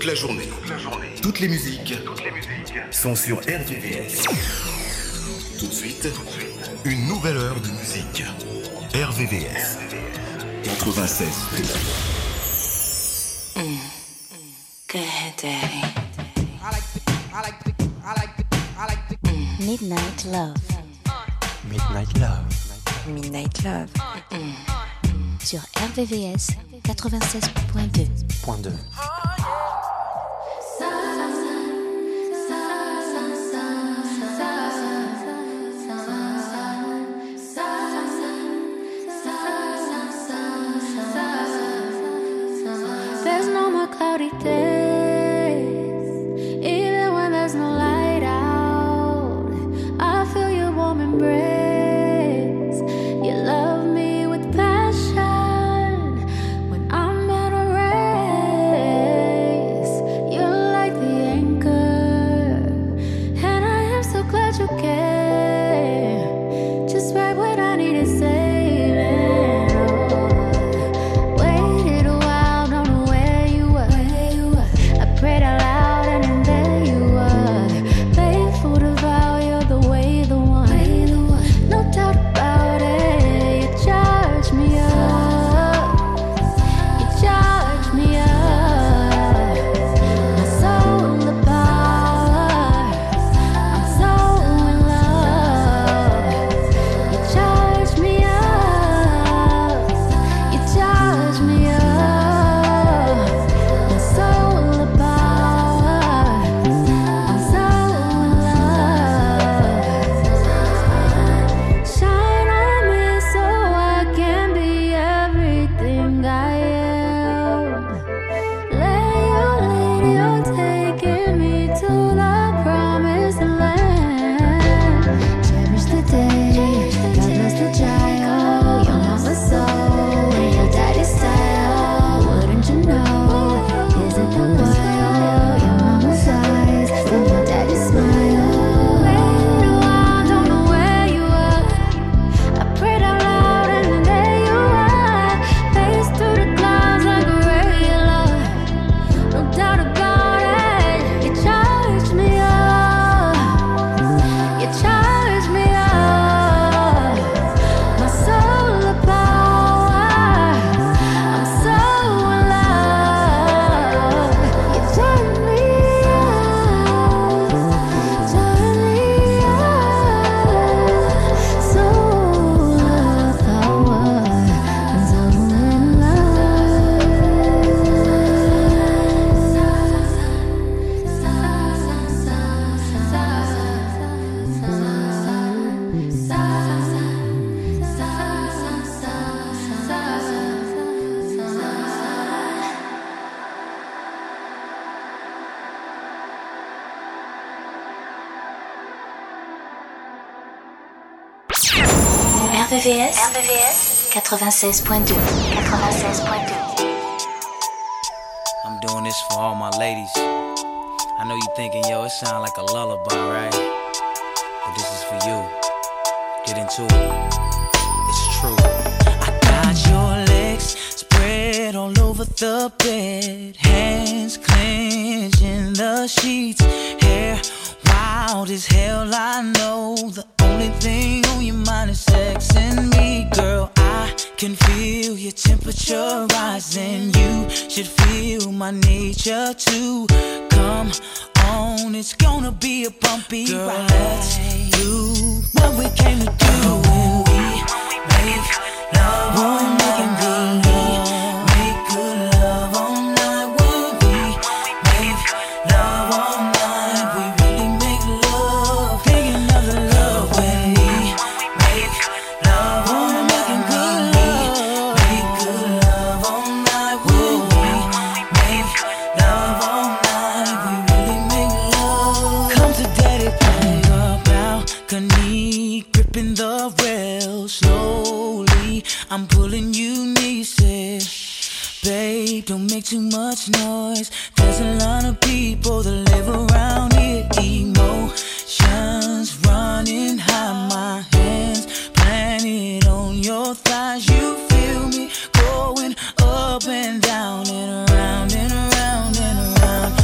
toute la journée. Toutes les musiques sont sur RVVS. Tout de suite, une nouvelle heure de musique. RVVS 96. Go ahead, Daddy. Midnight Love. Midnight Love. Midnight Love. Sur RVVS 96.2. Point 2. There's no more cloudy days, even when there's no light out. I feel your warm embrace. You love me with passion when I'm at a race. You're like the anchor, and I am so glad you care. Just right when I need to say. RVVS 96.2. I'm doing this for all my ladies. I know you thinking, yo, it sound like a lullaby, right? But this is for you. Get into it. It's true. I got your legs spread all over the bed, hands clenching the sheets, hair wild as hell. I know the only thing on your mind is sex and me, girl. I can feel your temperature rising. You should feel my nature too. Come on, it's gonna be a bumpy ride. Let's do what we came to do. When we make love, when we making good love, make good love all night. When we make love all night, we really make love, thinking of the love. When we make love, when we making good love, make good love all night. When we make love all night, we really make love. Come to daddy, play a balcony, gripping the rail slowly. I'm pulling you near, said, babe, don't make too much noise. There's a lot of people that live around here. Emotions running high, my hands planted on your thighs. You feel me going up and down and around and around and around.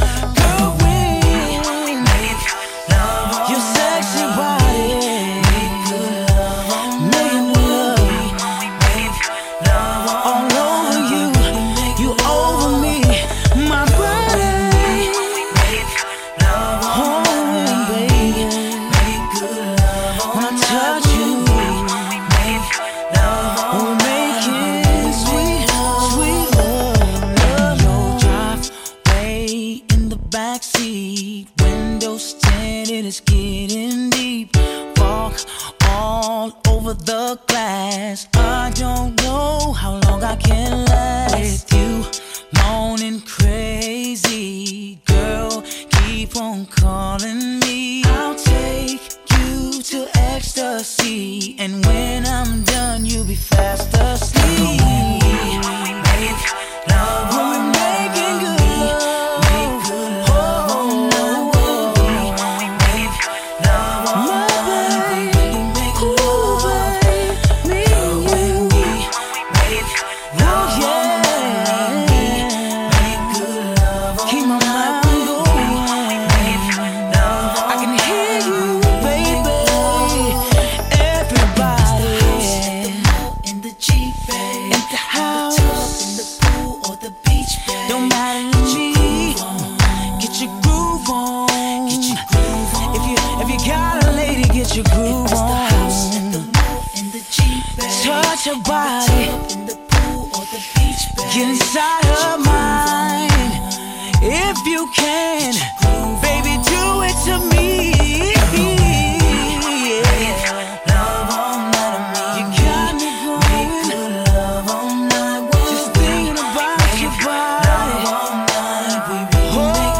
I can last with you, moaning crazy. Girl, keep on calling me. I'll take you to ecstasy, and when I'm done, you'll be fast asleep. Make love when we're making good love. Make good love all night with me. Make love all night. We make love, me and you. Make love all night. Make good love all night. Keep my mind going. Make love all night. I can hear you, baby. Everybody in the Jeep, baby. In the house, in the pool or the beach, baby. Don't matter to me. Get your groove on. Get your groove on. If you got a lady, get your groove on. The house, in the pool, in the Jeep, baby. Touch her body. In the pool or the beach, baby. Get inside her mind. If you can, baby, do it to me. Love all night of me. You got me going. Make good love all night. Just thinking about your body. Love all night. We really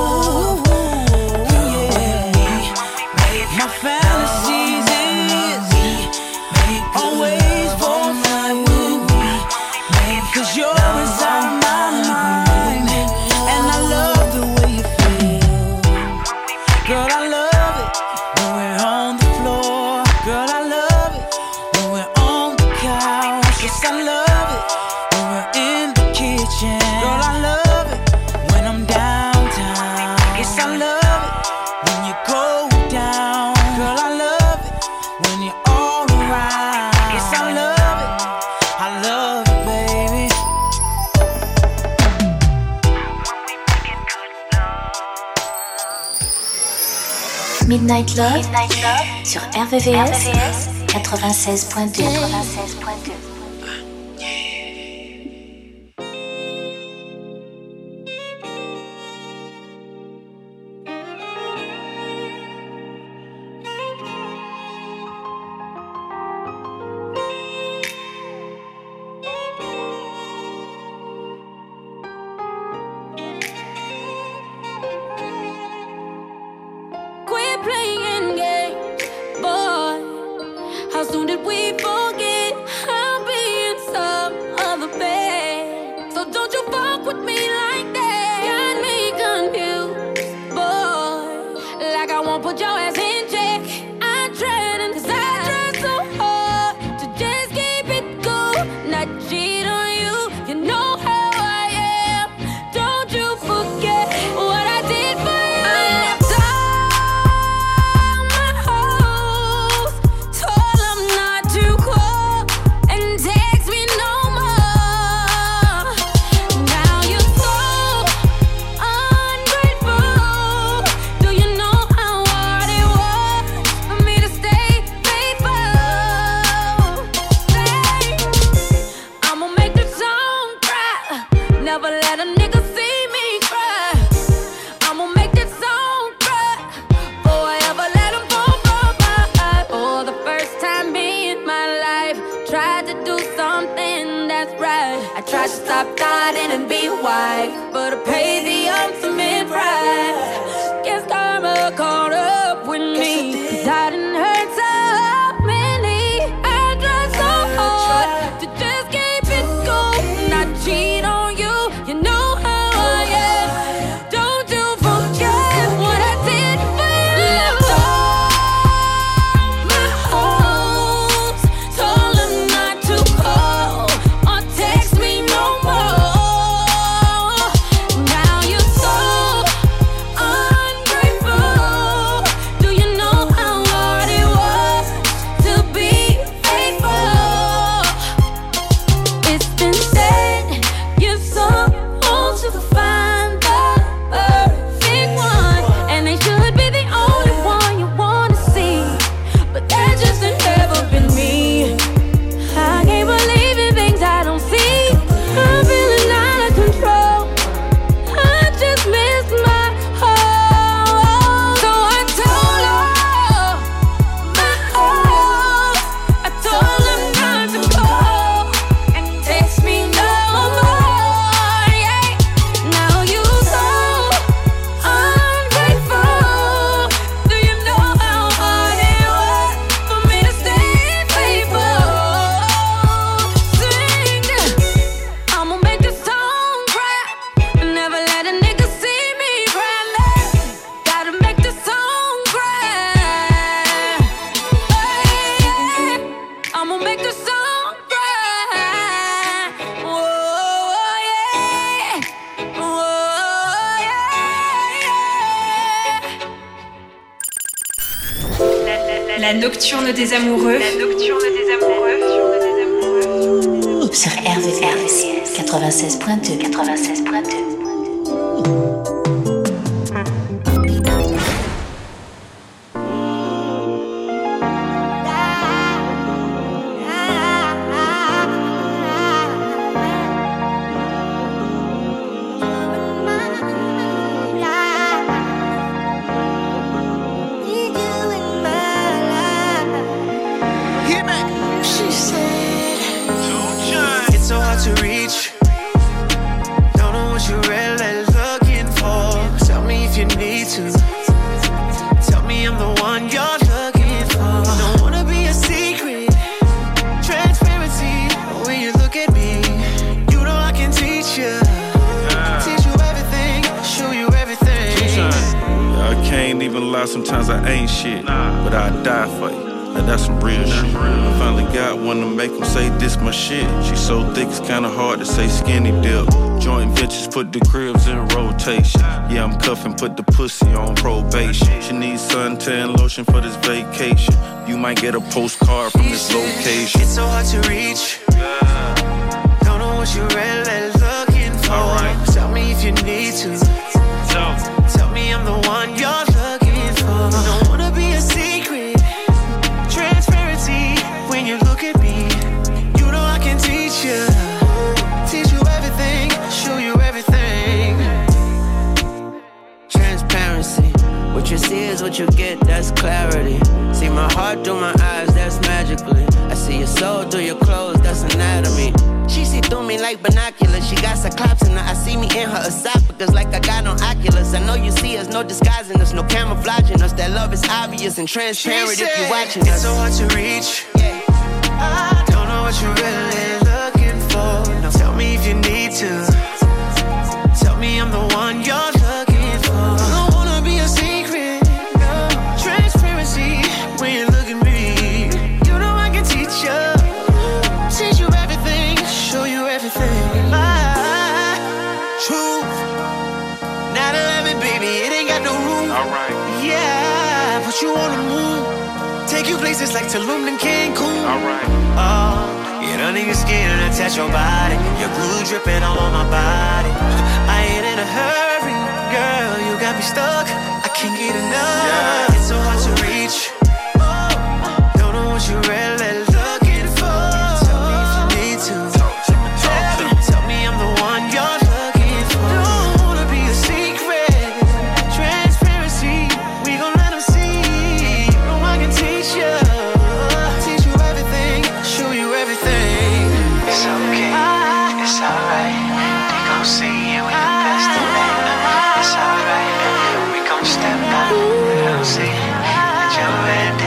make love. My fantasies is always for night with me. 'Cause you're inside my mind, and I love the way you feel. Girl, I love it when we're on the floor. Girl, I love it when we're on the couch. Yes, I love it when we're in the kitchen. Girl, I love it when I'm downtown. Yes, I love it when you go down. Girl, I love it when you're all around. Yes, I love it. I love it, baby. Midnight Love, sur RVVS 96.2. Quit playing games, boy. How soon did we forget I'll be in some other bed? So don't you fuck with me like that. Got me confused, boy. Like I won't put your ass in check. I'm trying, 'cause I try so hard to just keep it cool, not cheat on you. You know how I am. Don't you forget what I did for you. I left all my hoes, told them not to call and text me no more. Now you're so ungrateful. Do you know how hard it was for me to stay faithful? I'ma make this song cry. Never let a nigga see me cry. I'ma make this song cry. Forever let him fall from my eye. For the first time in my life, tried to do something that's right. I tried to stop fighting and be white, but I paid the ultimate price. Guess karma caught up with me, 'cause I didn't hurt so many. I tried so hard to just keep it cool, not cheat on you. You know how I am. Don't you forget what I did for you. Left all my hoes, told them not to call or text me no more. Now you're so ungrateful. Do you know how La nocturne des amoureux. La nocturne des amoureux. Sur RVVS 96.2. 96.2. Sometimes I ain't shit, but I die for you. Now that's some real shit. I finally got one to make them say this my shit. She so thick it's kinda hard to say skinny dip. Joint ventures put the cribs in rotation. Yeah, I'm cuffing, put the pussy on probation. She needs suntan lotion for this vacation. You might get a postcard from this location. It's so hard to reach. Don't know what you're really looking for. Right. Tell me if you need to. Tell me I'm the one you're looking for. Don't wanna be a secret. Transparency when you look at me. You know I can teach you. Teach you everything. Show you everything. Transparency. What you see is what you get, that's clarity. See my heart through my eyes, that's magically. I see your soul through your clothes, that's anatomy. She see through me like binoculars. She got cyclops in her. I see me in her esophagus like I got on Oculus. I know you see us, no disguising us, no camouflaging us. That love is obvious and transparent if you're watching us. It's so hard to reach. Yeah. I don't know what you're really looking for. Now tell me if you need to. Tell me I'm the one you're looking for. I don't wanna be a secret. No. Transparency when you look at me. You know I can teach you. Teach you everything. Show you everything. My truth. 9/11, baby, it ain't got no room. Alright. Yeah, put you on the moon. Take you places like Tulum and Cancun. Alright. Oh, get under your skin and attach your body. Your glue dripping all on my body. I ain't in a hurry, girl. You got me stuck. I can't get enough. Yeah. It's so hard to reach. Don't know what you really looking for. Tell me if you need to. Tell me I'm the one you're looking for. Don't wanna be a secret. Transparency, we gon' let them see. No one can teach you. Teach you everything, show you everything. It's okay, it's alright. They gon' see you in the best of me. It's alright, we gon' step out. They gon' see that you're ready.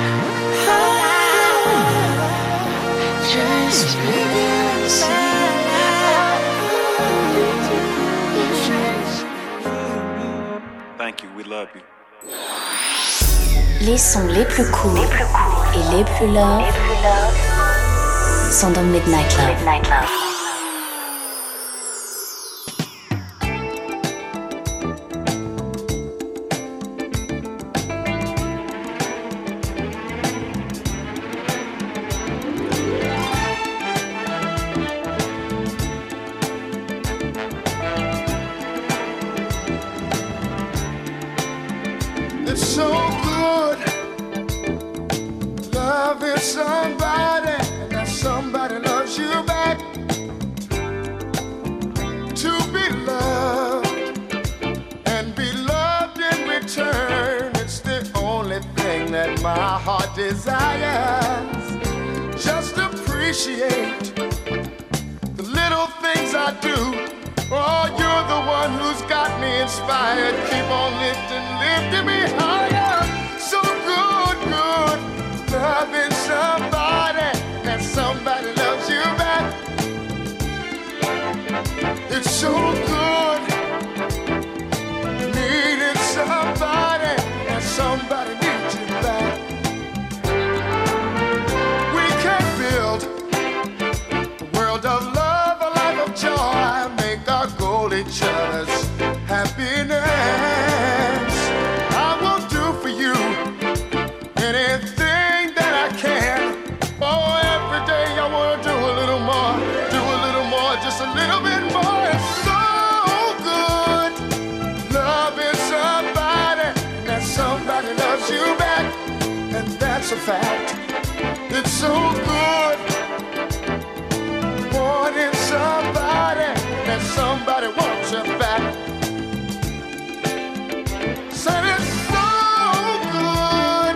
Thank you, we love you. Les sons les plus cool et les plus love sont dans Midnight Love. It's so good loving somebody, and that somebody loves you back. To be loved and be loved in return, it's the only thing that my heart desires. Just appreciate the little things I do. Oh, you're the one who's got me inspired. Keep on lifting me higher. So good, loving somebody, and somebody loves you back. It's so good needing somebody, and somebody needs you back. We can build a world of love, a life of joy, make our goal each other's happiness. I will do for you anything fact. It's so good wanting somebody and somebody wants you back. Said it's so good.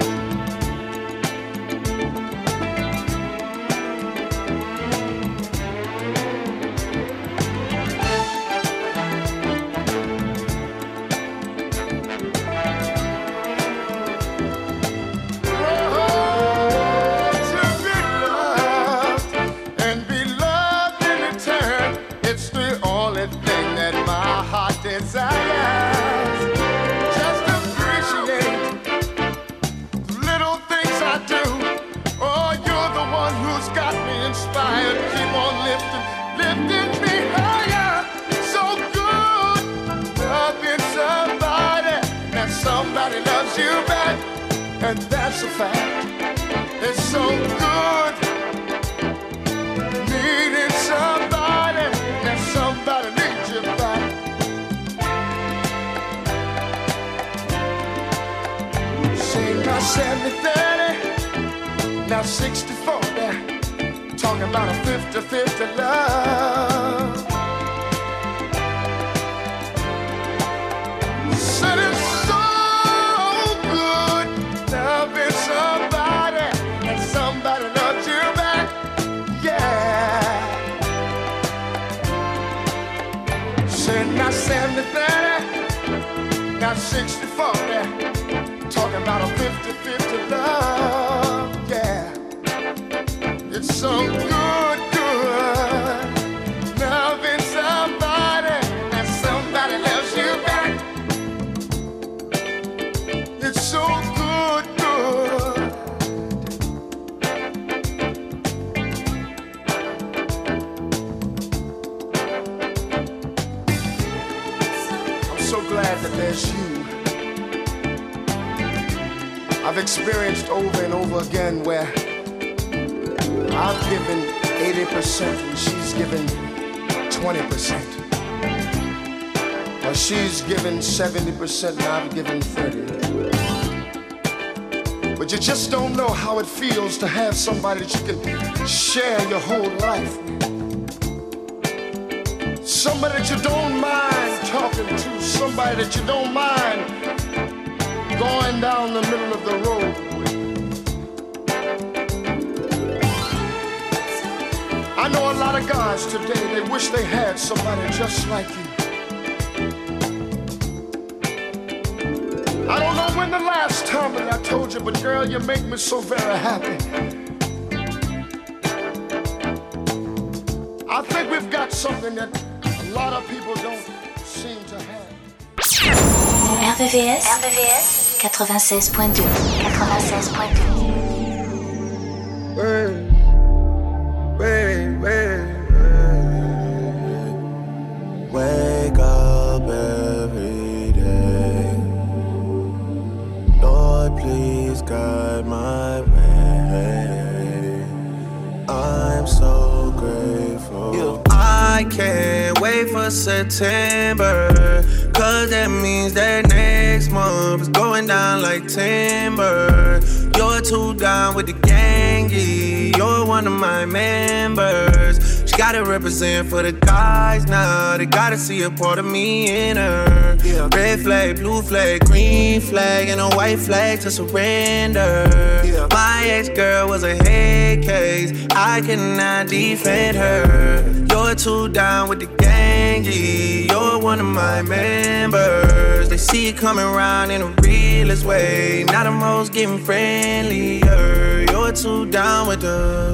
Desires. Just appreciate the little things I do. Oh, you're the one who's got me inspired. Keep on lifting me higher. So good, loving somebody, that somebody loves you back, and that's a fact. It's so good, needing somebody, that somebody needs you back. Now 70-30, now 60-40, talking about a 50-50 love. Said it's so good, loving somebody, and somebody loves you back, yeah. Said now 70-30, now 60-40. Talking about a 50-50 love, yeah. It's so good, good. Loving somebody and somebody loves you back. It's so good, good. I'm so glad that there's you. I've experienced over and over again where I've given 80% and she's given 20%. Or she's given 70% and I've given 30%. But you just don't know how it feels to have somebody that you can share your whole life with. Somebody that you don't mind talking to, somebody that you don't mind going down the middle of the road. I know a lot of guys today, they wish they had somebody just like you. I don't know when the last time that I told you, but girl, you make me so very happy. I think we've got something that a lot of people don't seem to have. RVVS 96.2 Wake up every day. Lord, please guide my way. I'm so grateful. I can't wait for September, 'cause that means that next month is going down like timber. You're too down with the gang, yeah. You're one of my members. She gotta represent for the guys now. They gotta see a part of me in her. Yeah. Red flag, blue flag, green flag, and a white flag to surrender. Yeah. My ex-girl was a head case. I cannot defend her. You're too down with the gang, yeah. You're one of my members. They see it coming around in the realest way. Now the most getting friendlier. You're too down with the.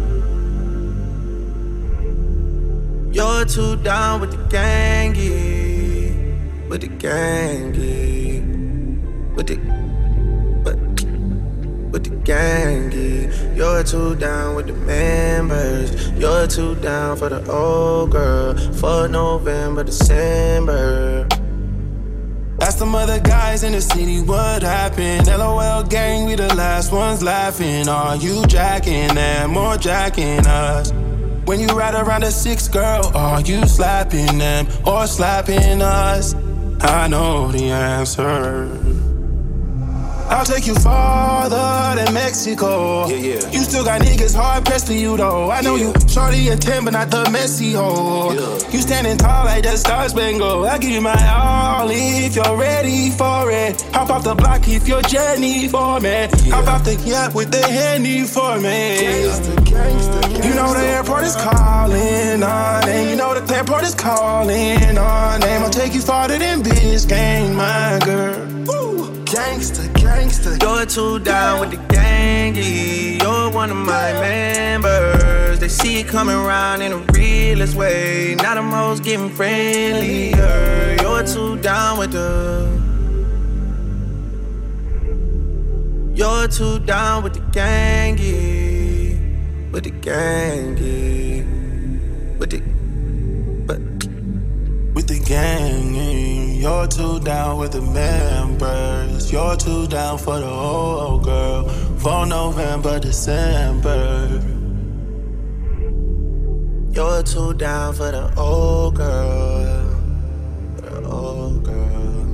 You're too down with the gang, yeah. With the gang, yeah. With the gang, yeah. You're too down with the members. You're too down for the old girl. For November, December. Ask them other guys in the city what happened. LOL gang, we the last ones laughing. Are you jacking them or jacking us? When you ride around a 6 girl, are you slapping them or slapping us? I know the answer. I'll take you farther than Mexico. Yeah. You still got niggas hard pressed for you though. I know you shorty and 10, but not the messy hoe. You standing tall like that Star Spangled. I'll give you my all if you're ready for it. Hop off the block if you're Jenny for me. Hop off the yacht with the Henny for me. Gangsta. You know the airport is calling our name. You know the airport is calling our name. I'll take you farther than Biscayne, my girl. Ooh. Gangsta. You're too down with the gangy. You're one of my members. They see it coming around in the realest way. Now them hoes getting friendlier. You're too down with the. You're too down with the gangy. With the gangy. With the gang, you're too down with the members. You're too down for the old girl. For November, December. You're too down for the old girl. For the old girl.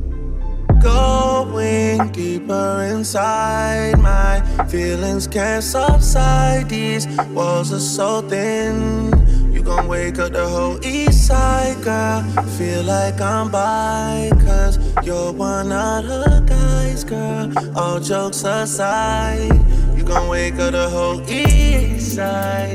Going deeper inside, my feelings can't subside. These walls are so thin. You gon' wake up the whole east side, girl. Feel like I'm by, cause you're one of the guys, girl. All jokes aside, you gon' wake up the whole east side.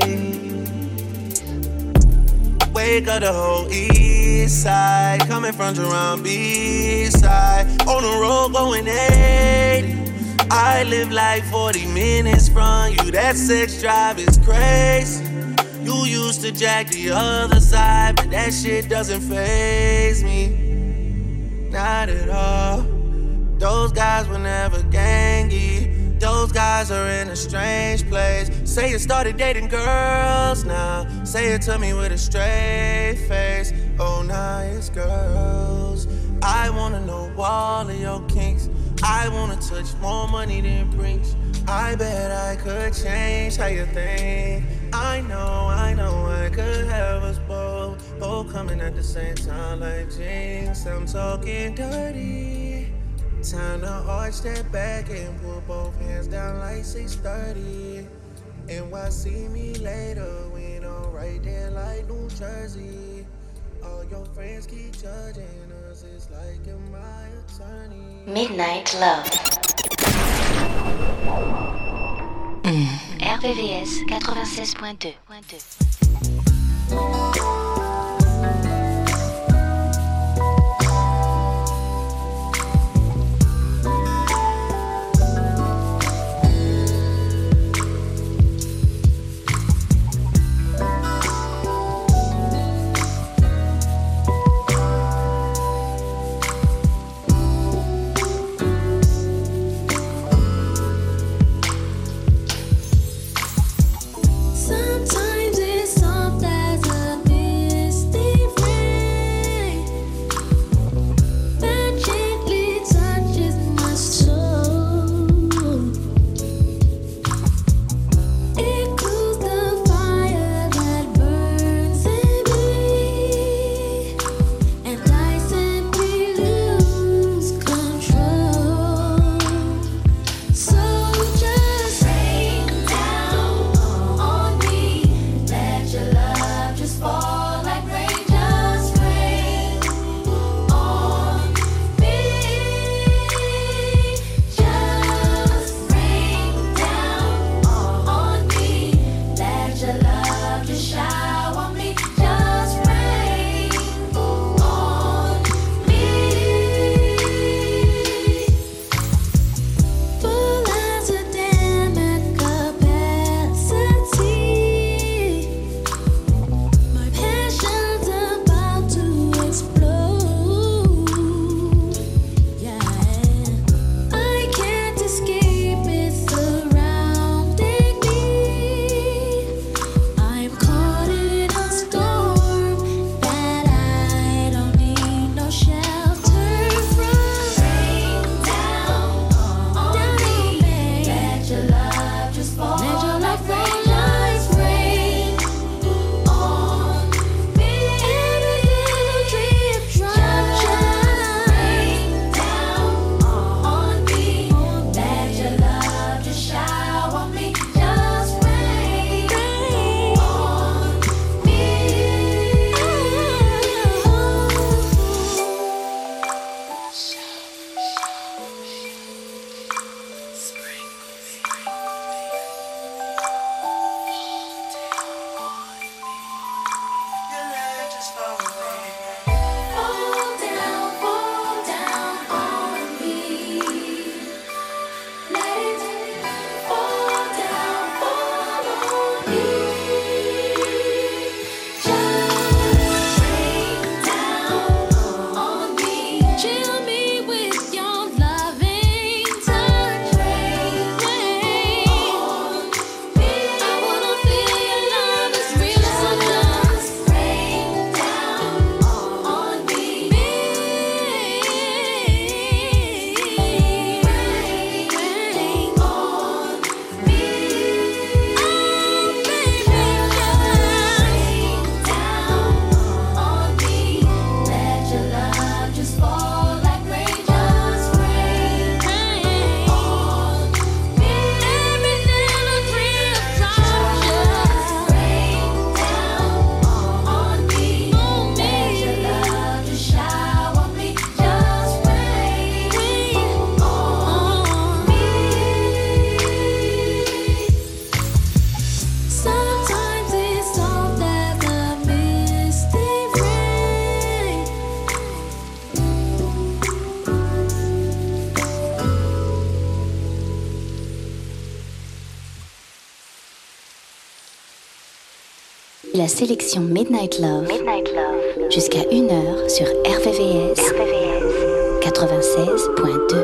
Wake up the whole east side. Coming from Jerome B-side. On the road going 80. I live like 40 minutes from you. That sex drive is crazy. You used to jack the other side, but that shit doesn't faze me. Not at all. Those guys were never gangy. Those guys are in a strange place. Say you started dating girls now. Say it to me with a straight face. Oh, now it's girls. I wanna know all of your kinks. I wanna touch more money than Brinks. I bet I could change how you think. I know I could have us both coming at the same time like Jinx. I'm talking dirty. Time to arch that back and put both hands down like 6:30. And why see me later? We don't right there like New Jersey. All your friends keep judging us. It's like you're my attorney. Midnight Love. RVVS 96.2. Sometimes it's soft as a la sélection Midnight Love, jusqu'à 1h sur RVVS 96.2.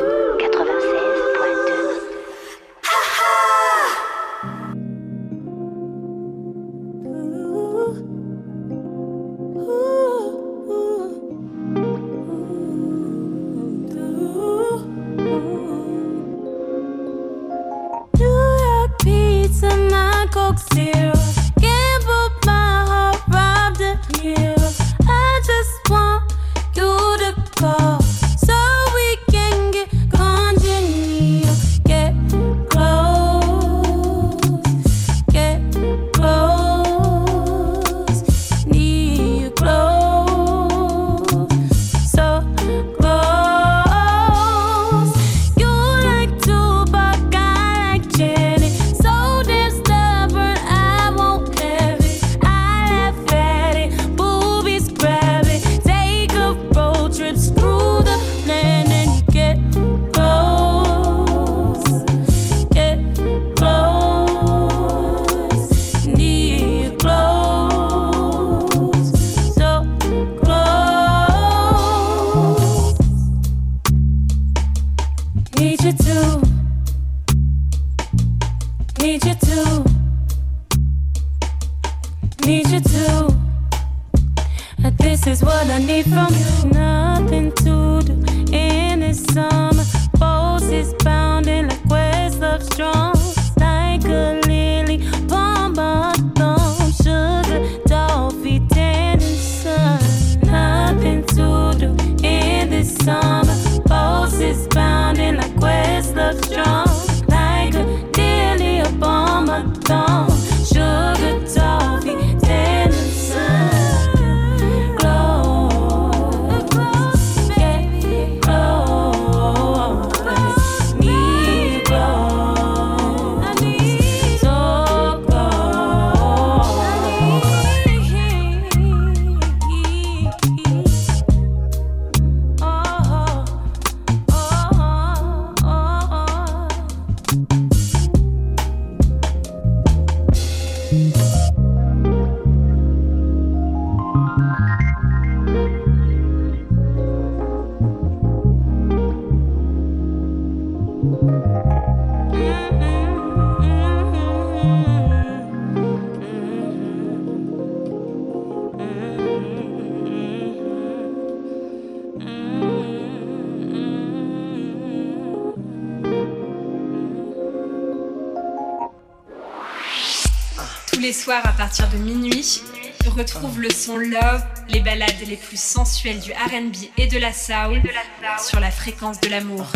Les soirs à partir de minuit, retrouve le son Love, les ballades les plus sensuelles du R&B et de la soul sur la fréquence de l'amour.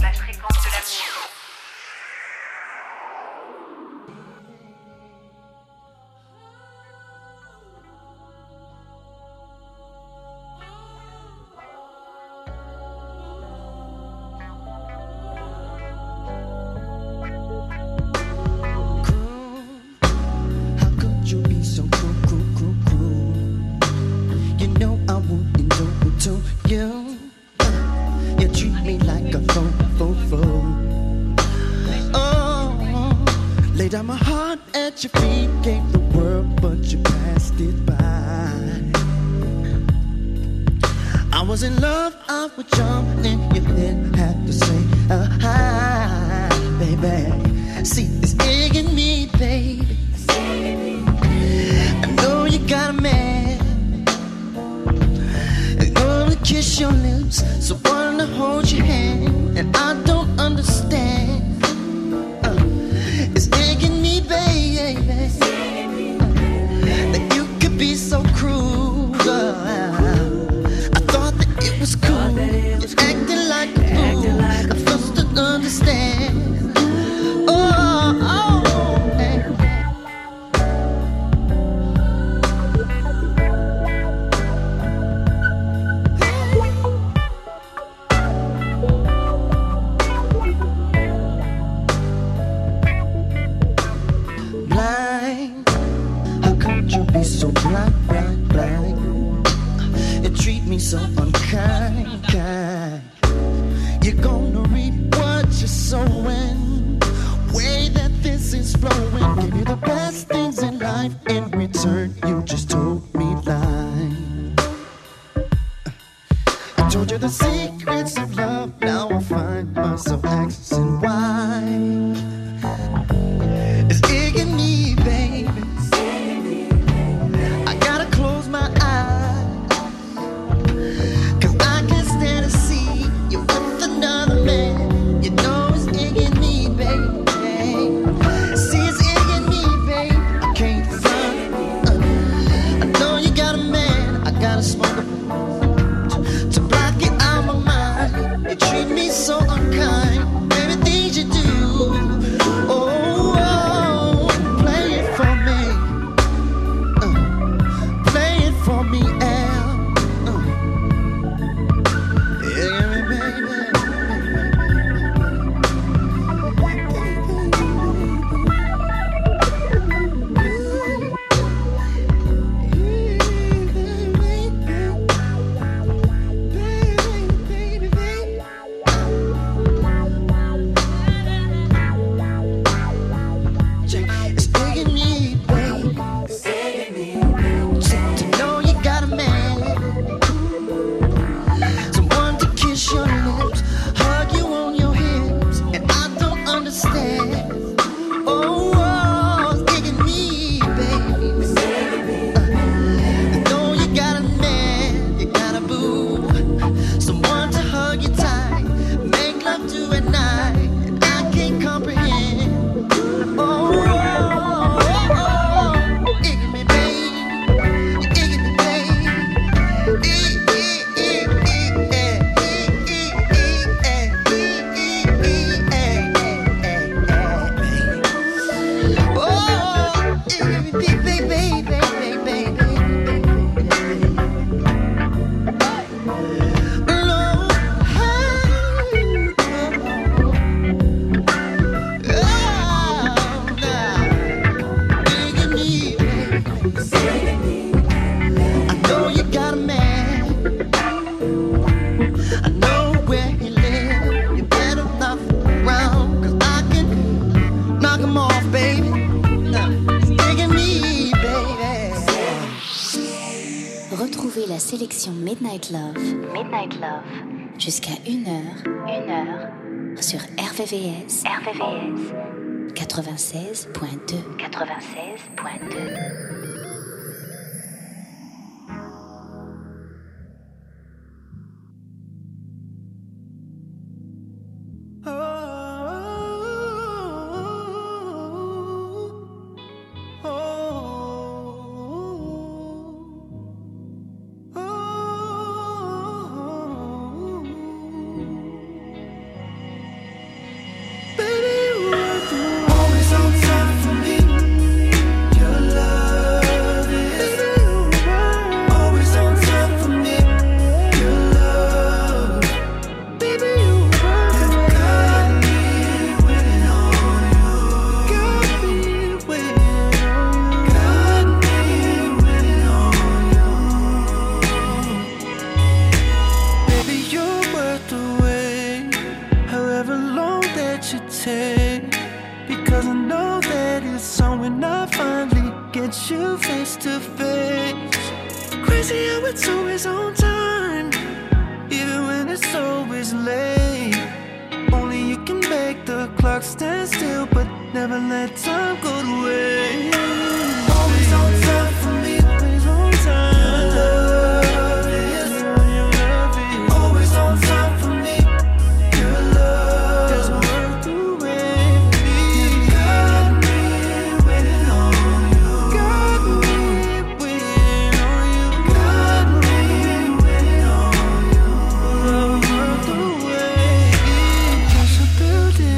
You're gonna reap what you're sowing. Way that this blessings flowing. Gave you the best things in life. In return, you just told me lies. I told you the secrets of love. Now I find myself asking why. It's digging me, baby. I gotta close my eyes, 'cause I can't stand to see you with another man. You know it's digging me, baby. See, it's digging me, baby. I can't run. I know you got a man. I gotta smoke to block it out my mind. You treat me so unkind. Everything you do. Retrouvez la sélection Midnight Love. Midnight Love. Jusqu'à 1h sur RVVS. 96.2.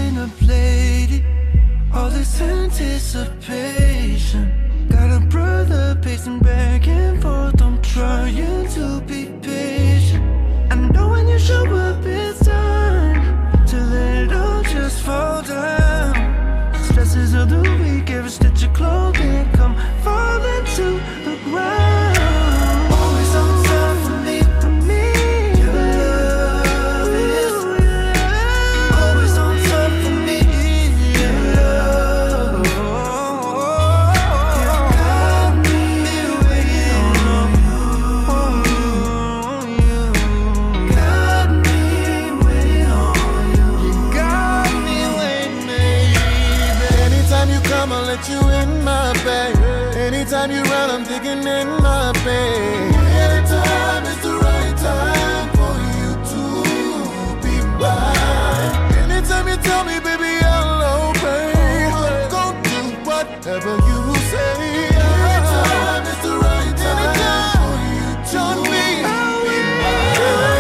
Anticipation, got a brother shaking in my bed. Anytime is the right time for you to be mine. Anytime you tell me, baby, I'll obey. Go do whatever you say. Anytime is the right time for you to be mine.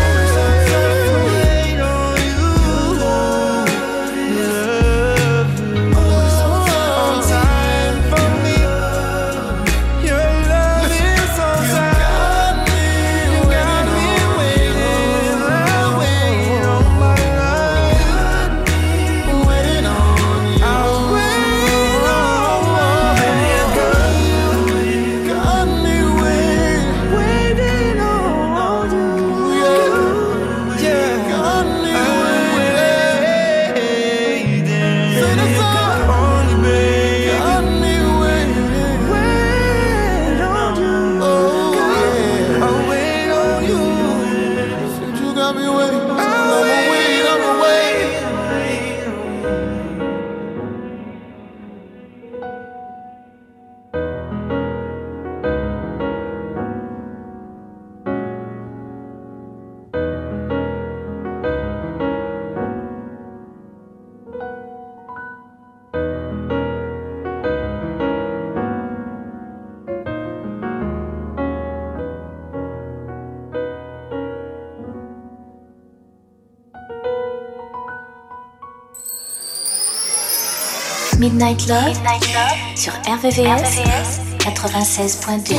Midnight Love sur RVVS 96.2.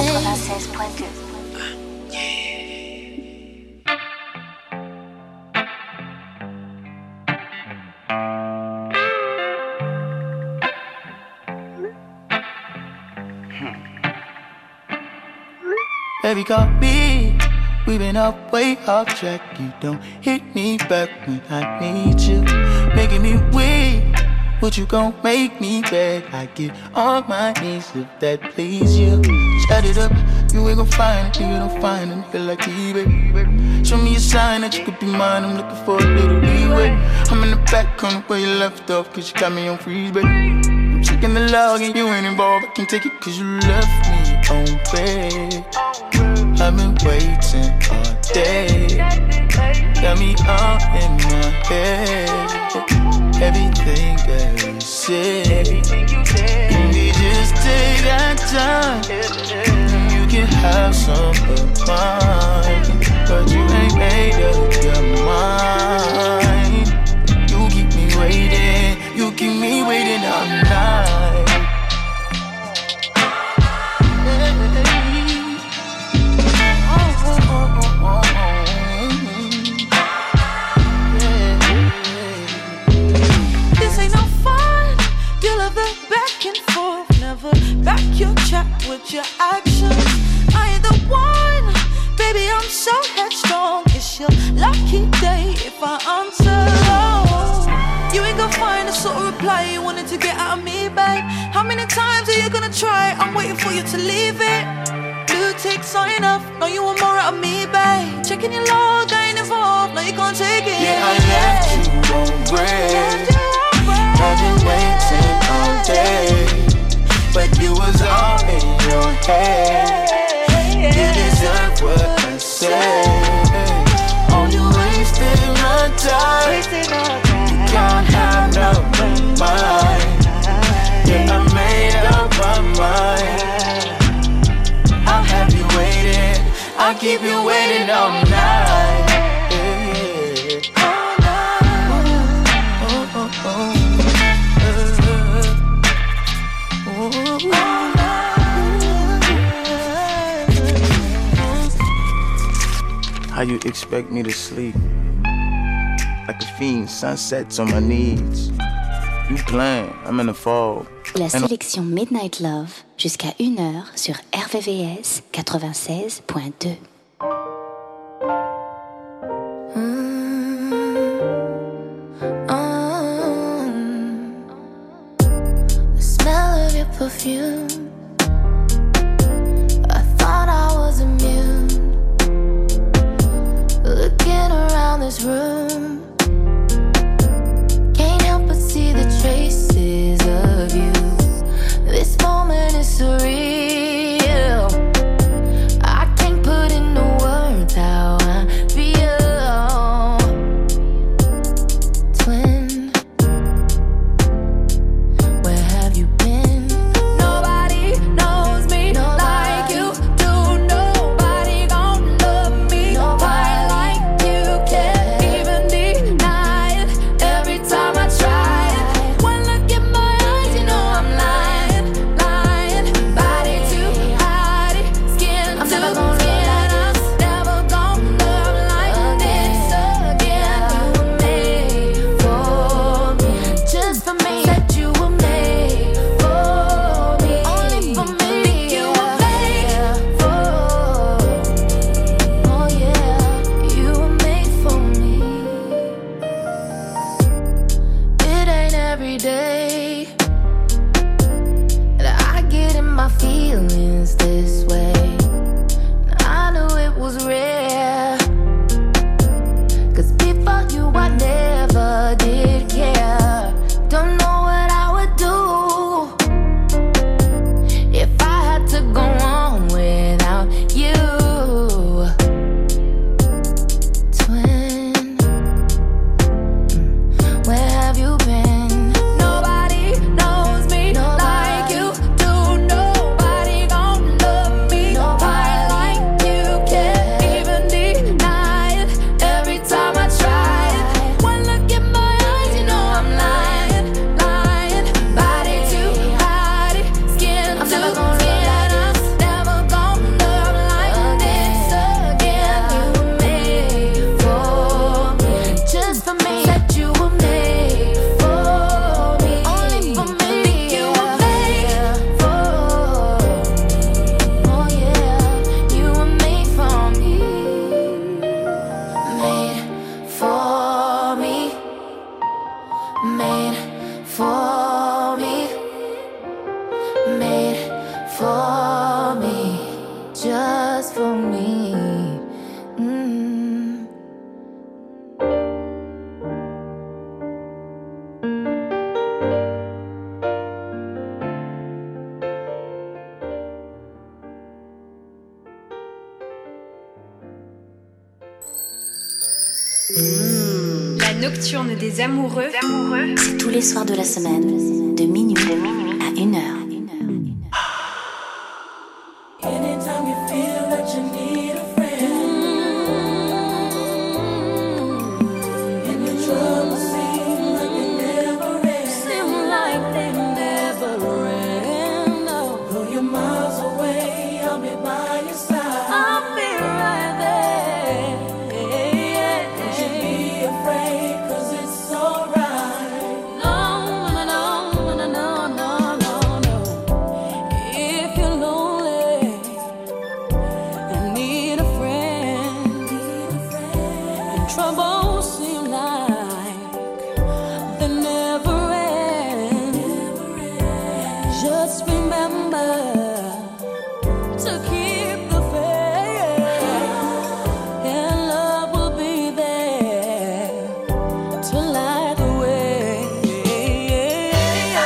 Baby, call me. We've been up way off track. You don't hit me back when I need you. Making me weak. What you gon' make me beg? I get on my knees if that please you. Shut it up, you ain't gon' find it. You don't find a nigga like me, baby. Show me a sign that you could be mine. I'm looking for a little leeway. I'm in the back on where you left off, cause you got me on freeze, baby. I'm checking the log and you ain't involved. I can take it cause you left me on red. I've been waiting all day. Got me all in my head. Everything that you said, we just take our time. You can have some of mine, but you ain't made up your mind. You keep me waiting all night. Back your chat with your actions. I ain't the one, baby, I'm so headstrong. It's your lucky day if I answer. You ain't gonna find the sort of reply you wanted to get out of me, babe. How many times are you gonna try? I'm waiting for you to leave it. Blue ticks are enough, no you want more out of me, babe. Checking your log, I ain't involved, no you can't take it. Yeah, I left you on bread. I've been waiting all day, but you was all in your head. You deserve what I said. Oh, you wasted my time. You can't have no mind. Yeah, I made up my mind. I'll have you waiting. I'll keep you waiting all night. How you expect me to sleep? Like a fiend, sunsets on my knees. You playing, I'm in the fog. La sélection Midnight Love jusqu'à 1h sur RVVS 96.2. The smell of your perfume. I thought I was immune. Looking around this room, can't help but see the traces of you. This moment is surreal. La nocturne des amoureux. C'est tous les soirs de la semaine, de minuit à 1h. Anytime you feel that you need a friend, and your troubles seem like they never end, though you're miles away, I'll be by your side. I'll be right there. Don't you be afraid, 'cause it's alright. No. If you're lonely and need a friend, and troubles seem like they never end, just remember to keep the faith, and love will be there to light the way. I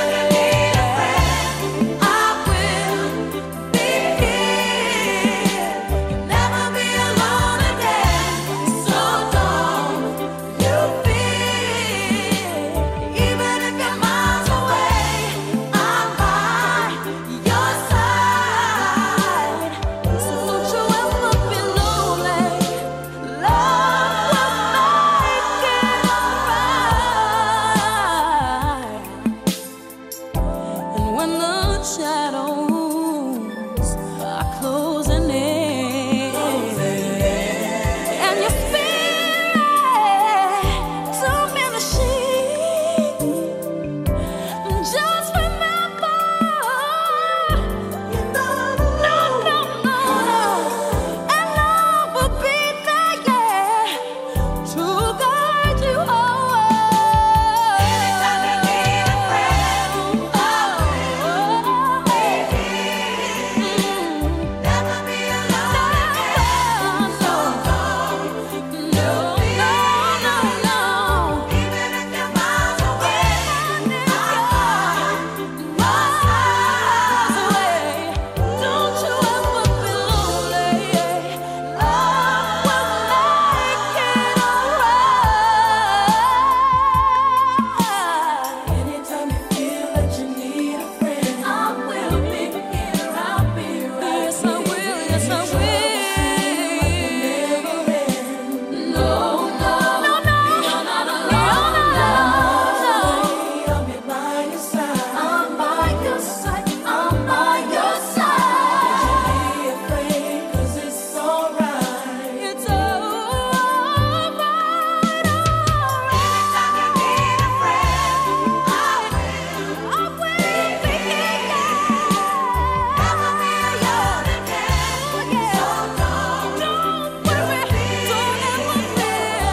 will be here. You'll never be alone again. So don't you fear. Even if you're miles away, I'm by your side. So don't you ever be lonely. Love will make it alright. And when the shadows are closing in, and your spirit's diminishing, just remember, you're not alone. And love will be there, yeah, to guide you home. Anytime you need a friend, never be alone again. So don't you no. Even if you're miles away, miles away. Don't you ever be lonely. Love will make it alright. Anytime you feel that you need a friend, I will be here. I'll be right. Yes, I will. Yes, I will. No. You're not alone. I'll be by your side. I'm by your side. I'm by your side. Don't you be afraid, 'cause it's alright. It's alright. Anytime you need a friend, I will be here. Never be alone again. So don't worry. Don't ever fear.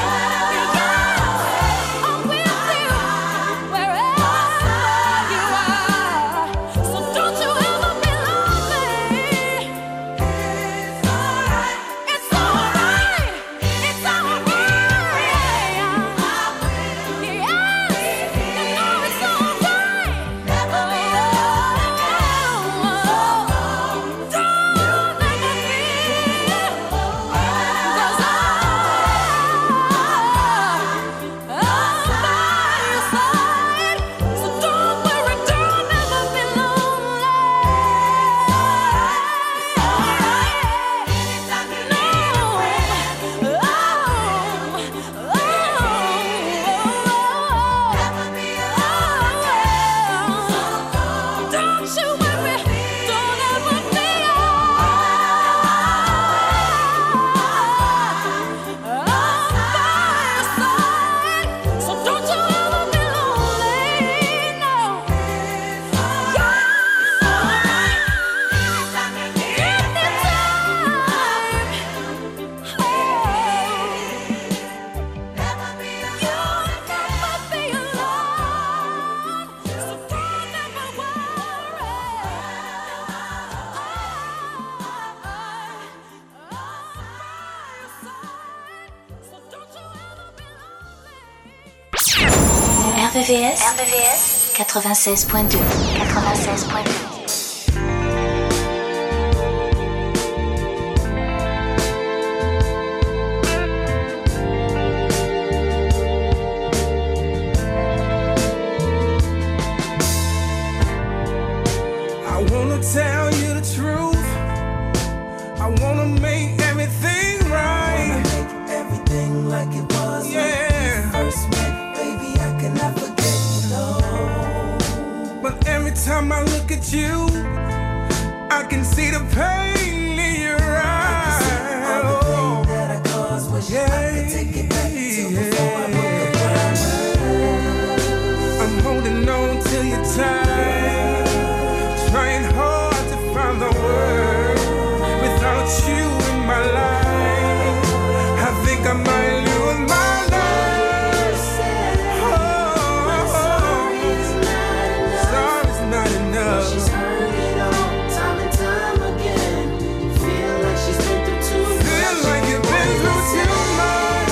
I'm with you wherever you are. So don't you ever be lonely. It's alright. It's alright. It's alright. Yes, you know it's alright. Never be alone again. Don't ever fear. 'Cause I'm by your side. So don't worry, don't ever be lonely. Anytime you need a friend, never be alone again. So don't you worry, don't ever fear. I'm by your side. So don't you ever be lonely. No. Anytime you need a friend, never be alone again. So don't ever RVVS 96.2. at you, I can see the pain in your eyes. All the pain that I caused, wish I could take it back to before I broke the promise. I'm holding on to your time, trying hard to find the word. Without you in my life, I think I might lose my life. Sorry's not enough. She's heard it all, time and time again. Feel like she's been through too much. Feel like you've been through too much.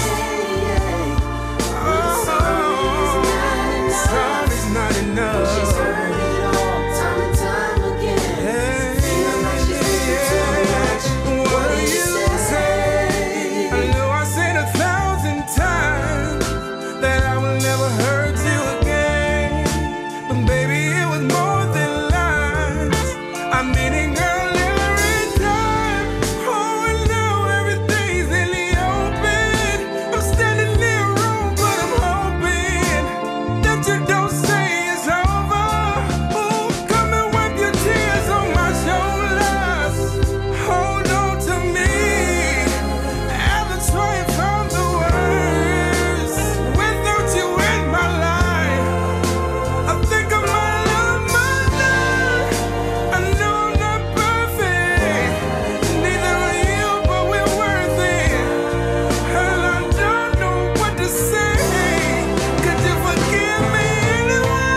Sorry's not enough. She's heard it all, time and time again. Feel like she's been through too much. What do you say? I know I said 1,000 times that I will never hurt you again, but baby, it was more than lies. I'm meaning girl every time. Oh, and now everything's in the open. I'm standing there wrong, but I'm hoping that you don't say it's over. Oh, come and wipe your tears on my shoulders. Hold on to me as I try and find the words. Without you in my life, I think I might lose my life. I know I'm not perfect, neither are you, but we're worth it. And I don't know what to say. Could you forgive me anyway?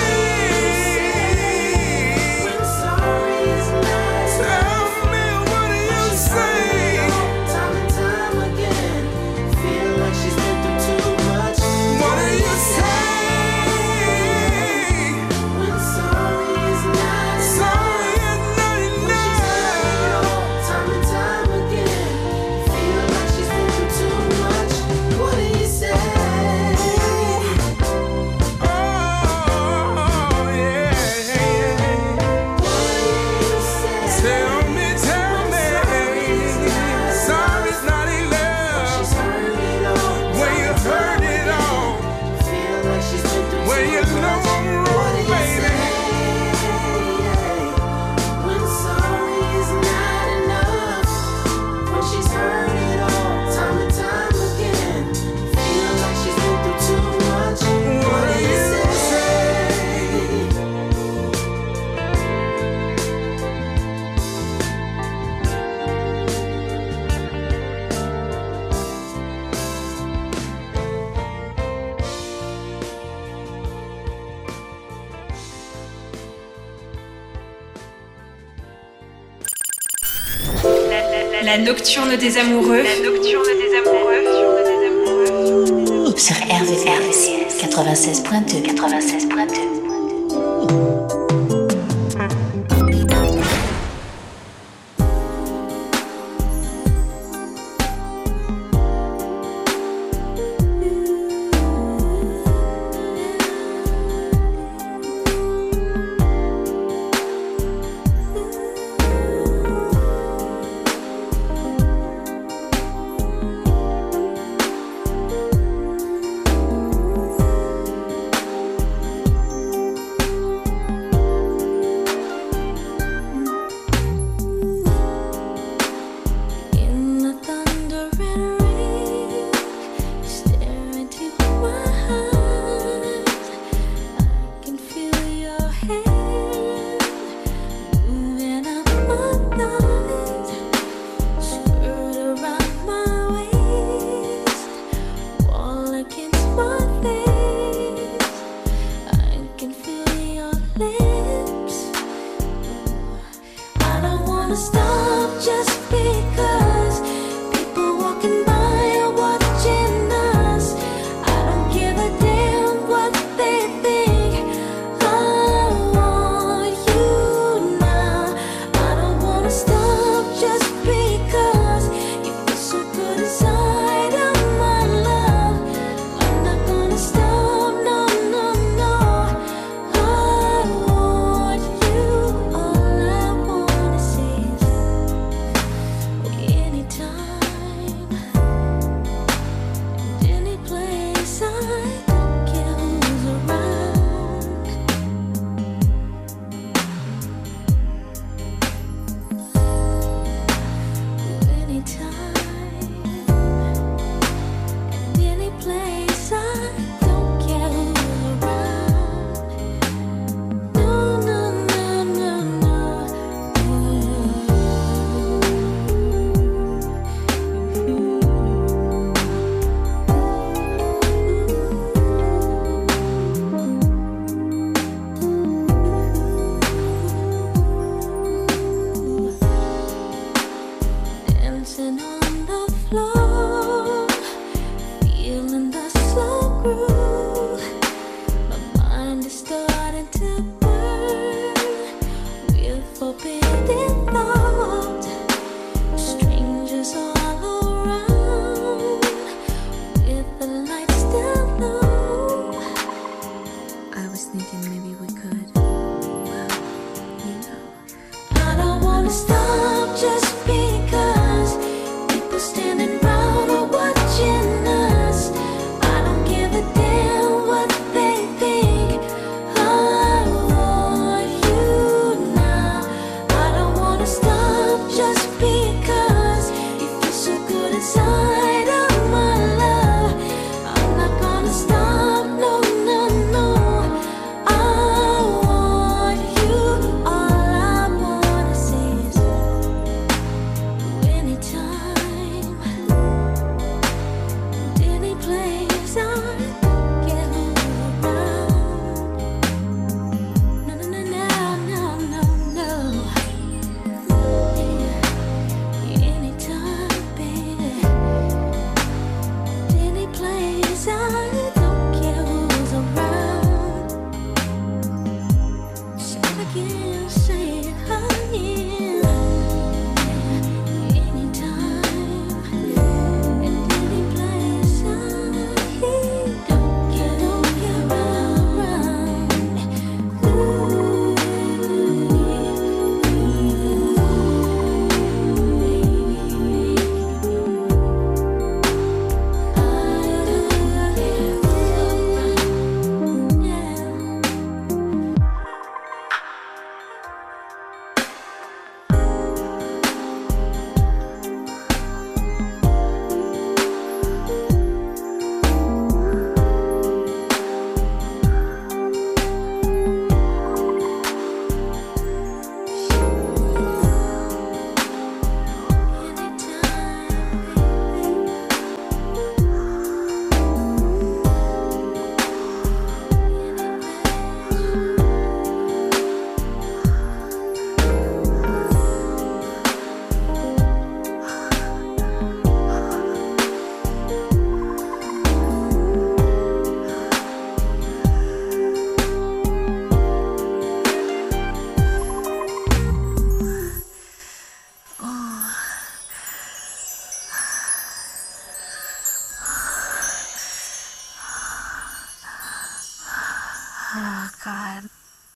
Sorry is not. Tell me, what do you say? Time and time again, feel like she's been through too much. What do you say? When sorry is not enough. Sorry is not enough. Time and time again, feel like she's been through too much. What do you say? Oh, yeah. What do you say? Tell me. Sorry's not enough. She's heard it all. When you heard it all. Feel like she's been through when you know I'm wrong, baby. When sorry is not enough. When she's heard it all, time and time again. Feel like she's been through too much. What do you say? La nocturne des amoureux. Sur RVVS 96.2.